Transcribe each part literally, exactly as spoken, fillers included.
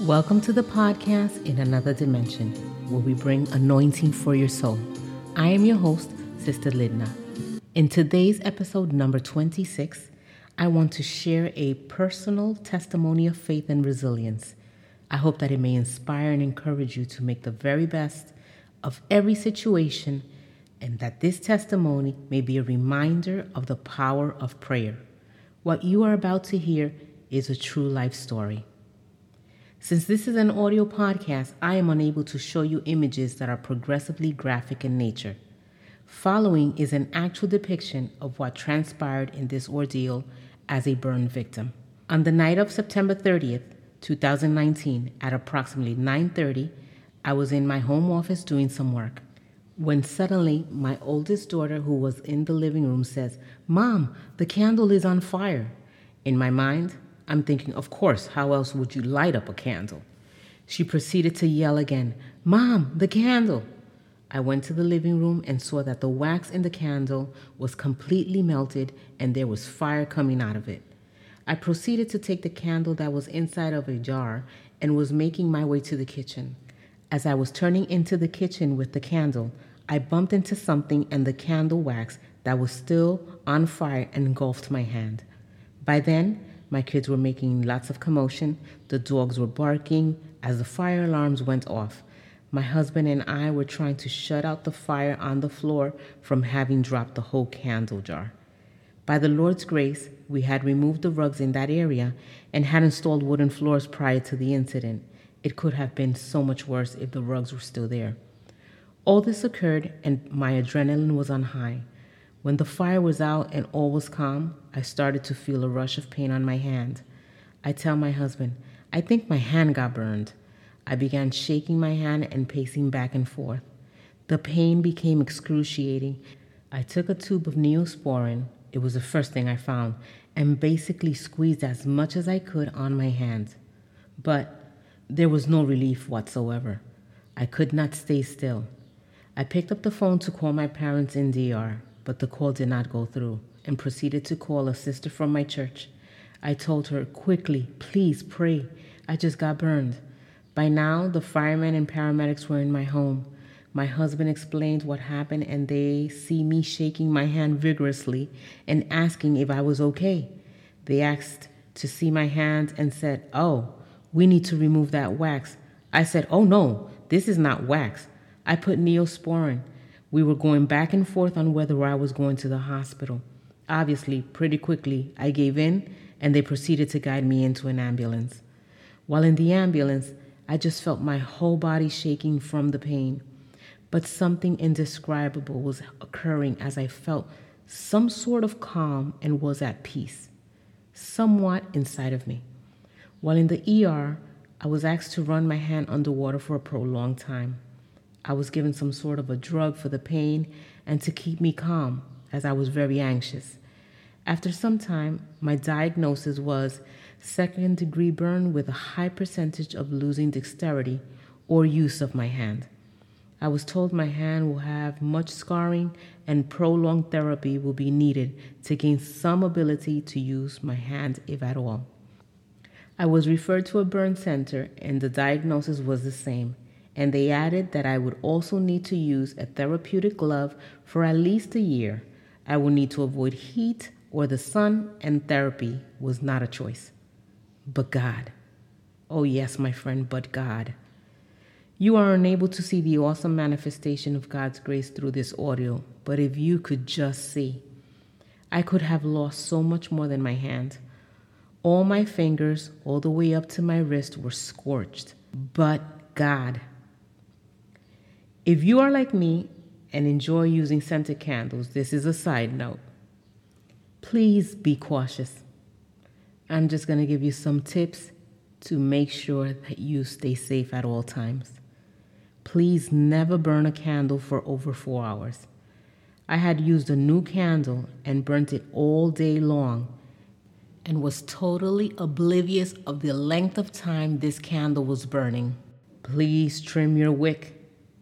Welcome to the podcast In Another Dimension, where we bring anointing for your soul. I am your host, Sister Lidna. In today's episode number twenty-six, I want to share a personal testimony of faith and resilience. I hope that it may inspire and encourage you to make the very best of every situation, and that this testimony may be a reminder of the power of prayer. What you are about to hear is a true life story. Since this is an audio podcast, I am unable to show you images that are progressively graphic in nature. Following is an actual depiction of what transpired in this ordeal as a burn victim. On the night of September thirtieth, twenty nineteen, at approximately nine thirty, I was in my home office doing some work, when suddenly my oldest daughter, who was in the living room, says, "Mom, the candle is on fire." In my mind, I'm thinking, of course, how else would you light up a candle? She proceeded to yell again, "Mom, the candle!" I went to the living room and saw that the wax in the candle was completely melted and there was fire coming out of it. I proceeded to take the candle that was inside of a jar and was making my way to the kitchen. As I was turning into the kitchen with the candle, I bumped into something and the candle wax that was still on fire engulfed my hand. By then, my kids were making lots of commotion. The dogs were barking as the fire alarms went off. My husband and I were trying to shut out the fire on the floor from having dropped the whole candle jar. By the Lord's grace, we had removed the rugs in that area and had installed wooden floors prior to the incident. It could have been so much worse if the rugs were still there. All this occurred and my adrenaline was on high. When the fire was out and all was calm, I started to feel a rush of pain on my hand. I tell my husband, "I think my hand got burned." I began shaking my hand and pacing back and forth. The pain became excruciating. I took a tube of Neosporin, it was the first thing I found, and basically squeezed as much as I could on my hand. But there was no relief whatsoever. I could not stay still. I picked up the phone to call my parents in D R, but the call did not go through, and proceeded to call a sister from my church. I told her, "Quickly, please pray. I just got burned." By now, the firemen and paramedics were in my home. My husband explained what happened, and they see me shaking my hand vigorously and asking if I was okay. They asked to see my hand and said, "Oh, we need to remove that wax." I said, "Oh no, this is not wax. I put Neosporin." We were going back and forth on whether I was going to the hospital. Obviously, pretty quickly, I gave in, and they proceeded to guide me into an ambulance. While in the ambulance, I just felt my whole body shaking from the pain. But something indescribable was occurring as I felt some sort of calm and was at peace, somewhat inside of me. While in the E R, I was asked to run my hand underwater for a prolonged time. I was given some sort of a drug for the pain and to keep me calm, as I was very anxious. After some time, my diagnosis was second degree burn with a high percentage of losing dexterity or use of my hand. I was told my hand will have much scarring and prolonged therapy will be needed to gain some ability to use my hand, if at all. I was referred to a burn center and the diagnosis was the same. And they added that I would also need to use a therapeutic glove for at least a year. I would need to avoid heat or the sun, and therapy was not a choice. But God. Oh yes, my friend, but God. You are unable to see the awesome manifestation of God's grace through this audio, but if you could just see. I could have lost so much more than my hand. All my fingers, all the way up to my wrist, were scorched. But God. If you are like me and enjoy using scented candles, this is a side note. Please be cautious. I'm just going to give you some tips to make sure that you stay safe at all times. Please never burn a candle for over four hours. I had used a new candle and burnt it all day long and was totally oblivious of the length of time this candle was burning. Please trim your wick.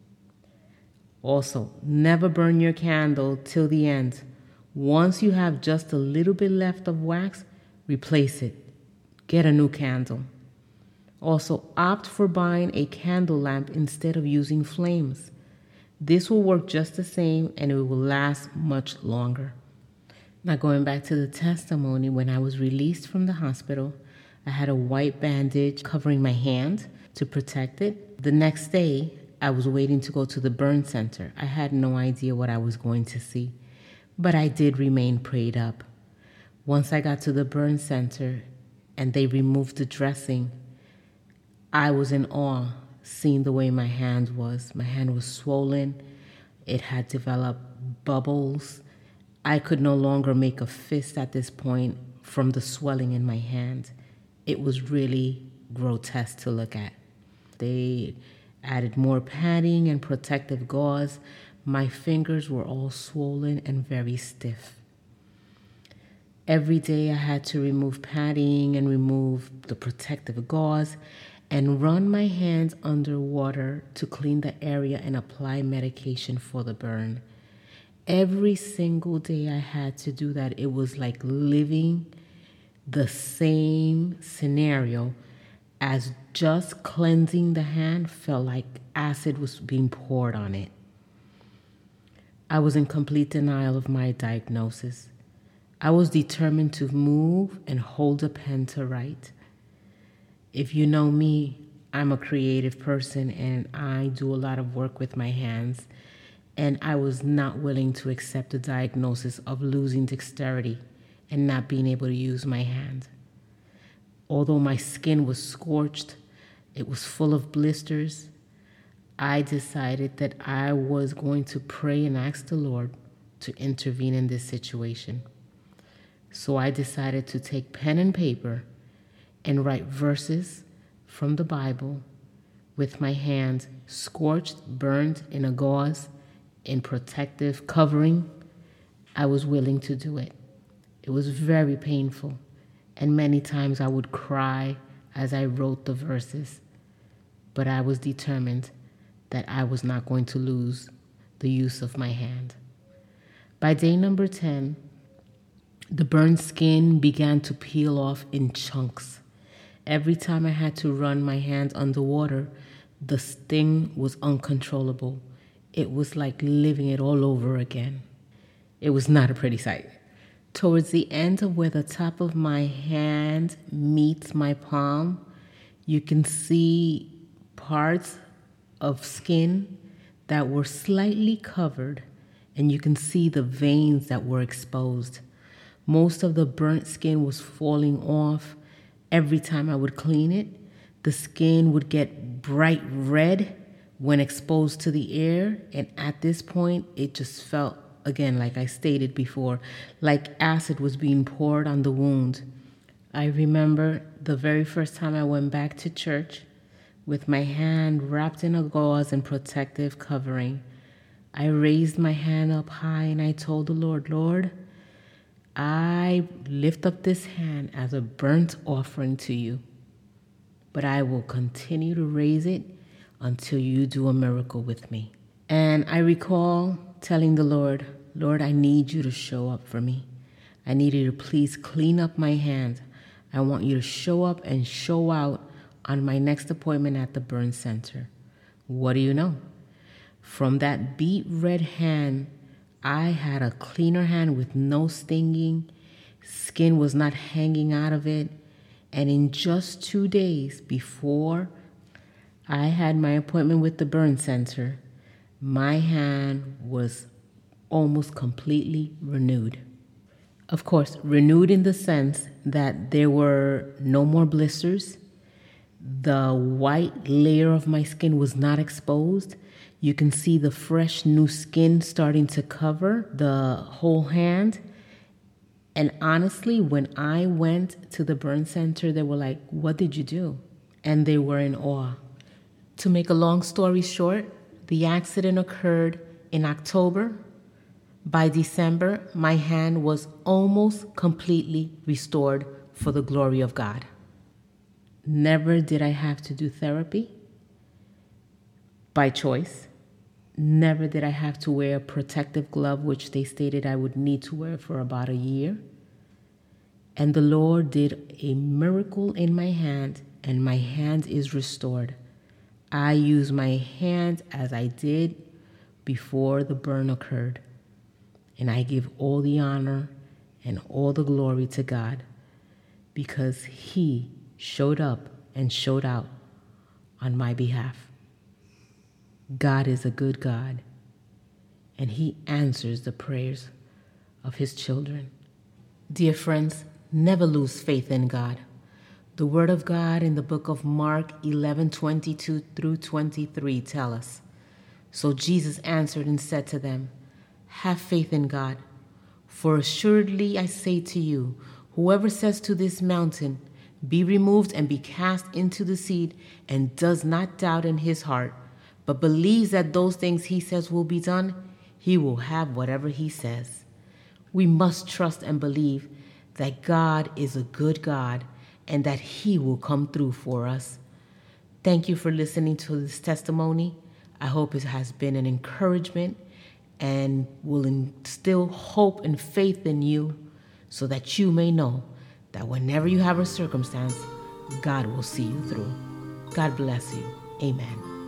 Also, never burn your candle till the end. Once you have just a little bit left of wax, replace it. Get a new candle. Also, opt for buying a candle lamp instead of using flames. This will work just the same and it will last much longer. Now, going back to the testimony, when I was released from the hospital, I had a white bandage covering my hand to protect it. The next day, I was waiting to go to the burn center. I had no idea what I was going to see, but I did remain prayed up. Once I got to the burn center and they removed the dressing, I was in awe seeing the way my hand was. My hand was swollen. It had developed bubbles. I could no longer make a fist at this point from the swelling in my hand. It was really grotesque to look at. They added more padding and protective gauze. My fingers were all swollen and very stiff. Every day I had to remove padding and remove the protective gauze and run my hands under water to clean the area and apply medication for the burn. Every single day I had to do that. It was like living the same scenario as just cleansing the hand felt like acid was being poured on it. I was in complete denial of my diagnosis. I was determined to move and hold a pen to write. If you know me, I'm a creative person and I do a lot of work with my hands, and I was not willing to accept the diagnosis of losing dexterity and not being able to use my hand. Although my skin was scorched, it was full of blisters, I decided that I was going to pray and ask the Lord to intervene in this situation. So I decided to take pen and paper and write verses from the Bible with my hand scorched, burned in a gauze, in protective covering. I was willing to do it. It was very painful, and many times I would cry as I wrote the verses, but I was determined that I was not going to lose the use of my hand. By day number ten, the burned skin began to peel off in chunks. Every time I had to run my hands underwater, the sting was uncontrollable. It was like living it all over again. It was not a pretty sight. Towards the end of where the top of my hand meets my palm, you can see parts of skin that were slightly covered, and you can see the veins that were exposed. Most of the burnt skin was falling off. Every time I would clean it, the skin would get bright red when exposed to the air, and at this point, it just felt, again, like I stated before, like acid was being poured on the wound. I remember the very first time I went back to church with my hand wrapped in a gauze and protective covering. I raised my hand up high and I told the Lord, Lord, I lift up this hand as a burnt offering to you, but I will continue to raise it until you do a miracle with me. And I recall telling the Lord, Lord, I need you to show up for me. I need you to please clean up my hand. I want you to show up and show out on my next appointment at the burn center. What do you know? From that beet red hand, I had a cleaner hand with no stinging. Skin was not hanging out of it. And in just two days before I had my appointment with the burn center, my hand was almost completely renewed. Of course, renewed in the sense that there were no more blisters. The white layer of my skin was not exposed. You can see the fresh new skin starting to cover the whole hand. And honestly, when I went to the burn center, they were like, what did you do? And they were in awe. To make a long story short, the accident occurred in October. By December, my hand was almost completely restored for the glory of God. Never did I have to do therapy by choice. Never did I have to wear a protective glove, which they stated I would need to wear for about a year. And the Lord did a miracle in my hand and my hand is restored. I use my hands as I did before the burn occurred. And I give all the honor and all the glory to God because He showed up and showed out on my behalf. God is a good God, and He answers the prayers of His children. Dear friends, never lose faith in God. The Word of God in the book of Mark eleven twenty-two through twenty-three tell us, "So Jesus answered and said to them, Have faith in God. For assuredly I say to you, whoever says to this mountain, Be removed and be cast into the sea, and does not doubt in his heart, but believes that those things he says will be done, he will have whatever he says." We must trust and believe that God is a good God and that He will come through for us. Thank you for listening to this testimony. I hope it has been an encouragement and will instill hope and faith in you so that you may know that whenever you have a circumstance, God will see you through. God bless you. Amen.